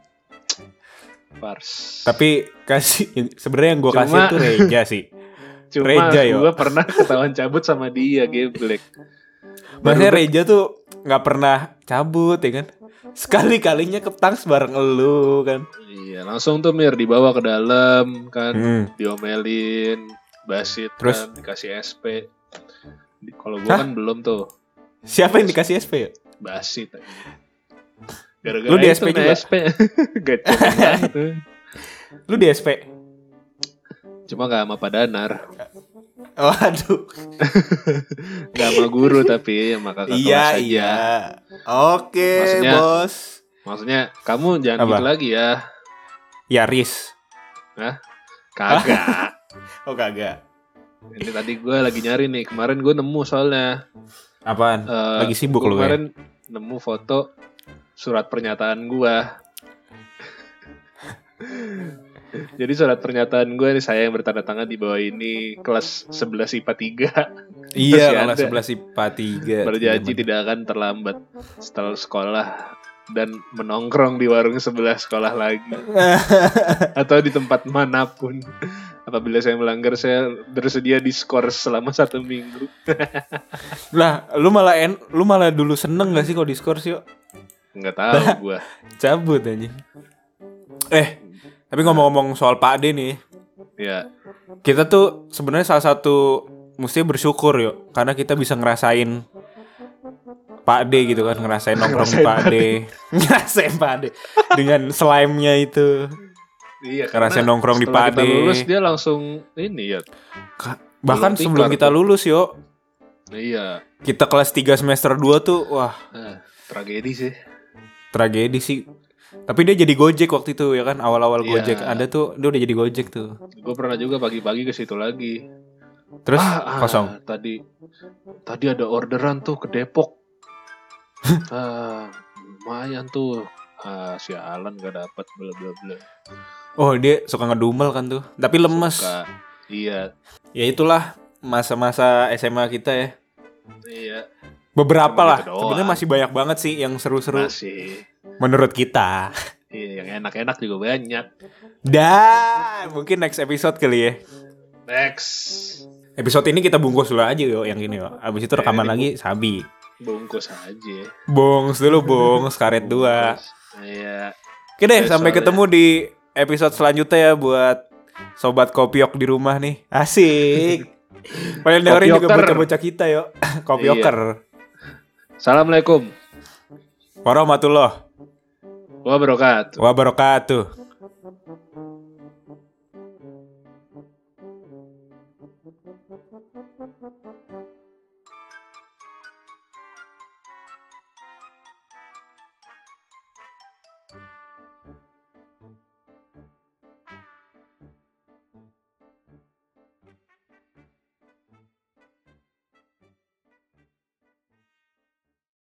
Pars. Tapi kasih sebenarnya yang gue Cuma- kasih tuh Reja sih. Cuma Reja, yo. gue pernah ketahuan cabut sama dia, geblek. Maksudnya Baru- Reja tuh nggak pernah cabut ya kan. Sekali-kalinya ke Tangs bareng elu kan. Iya, langsung tuh Mir dibawa ke dalam kan, Hmm. diomelin, basit, Terus? kan, dikasih S P. Di- Kalau gue kan belum tuh, Siapa yang dikasih S P ya? basit. aja. Gara-gara Lu di itu S P nih juga? S P. Gacor banget. Lu di S P? Cuma gak sama Pak Danar, Waduh. gak sama guru tapi sama kakak kelas Iya aja. iya. Oke Maksudnya- bos. Maksudnya kamu jangan Apa? gitu lagi ya. Yaris. Kagak. Oh kagak. Ini tadi gue lagi nyari nih. Kemarin gue nemu soalnya. Apaan? Eh, Lagi sibuk gua lu ya? kemarin nemu foto surat pernyataan gue. Jadi surat pernyataan gue nih, saya yang bertanda tangan di bawah ini kelas sebelas I P A tiga. Iya, Masih kelas ada. sebelas I P A tiga. Berjanji tidak akan terlambat setelah sekolah dan menongkrong di warung sebelah sekolah lagi atau di tempat manapun. Apabila saya melanggar, saya bersedia diskors selama satu minggu. Lah, lu malah en, lu malah dulu seneng gak sih kalau diskors yuk? Nggak tahu gue. Cabut aja. Eh, tapi ngomong-ngomong soal Pak D nih, Ya, kita tuh sebenarnya salah satu mesti bersyukur yuk, karena kita bisa ngerasain Pak D gitu kan, ngerasain nongkrong di Pak D, ngerasain Pak D dengan slime-nya itu. iya. Ngerasain karena nongkrong di setelah Pade. kita lulus dia langsung ini ya. Ka- Bahkan Belum sebelum tikar kita tuh. lulus yuk, Iya. kita kelas tiga semester dua tuh, wah Nah, tragedi sih. tragedi sih. Tapi dia jadi Gojek waktu itu ya kan, awal-awal Iya. Gojek ada tuh, dia udah jadi Gojek tuh. Gue pernah juga pagi-pagi ke situ lagi. Terus Ah, ah, kosong. Tadi tadi ada orderan tuh ke Depok. ah, lumayan tuh. Ah, sialan gak dapet bla bla bla. Oh dia suka ngedumel kan tuh, tapi lemes. Suka. Iya, Ya itulah masa-masa S M A kita ya. iya. Beberapa Cuma lah, gitu doang. sebenarnya masih banyak banget sih yang seru-seru Masih. menurut kita. Iya, yang enak-enak juga banyak. Dan mungkin next episode kali ya. Next. Episode ini kita bungkus dulu aja yo yang ini yo. Abis itu Ya, rekaman ini lagi Sabi. Bungkus aja. Bongs dulu bongs karet dua. Bungkus. Iya. Oke deh, Ya, sampai soalnya- ketemu di episode selanjutnya ya buat sobat kopiok di rumah nih. Asik. Paling dengerin juga Kopioker. bocah-bocah kita yo. Kopioker. Assalamualaikum Warahmatullah wabarakatuh. wabarakatuh.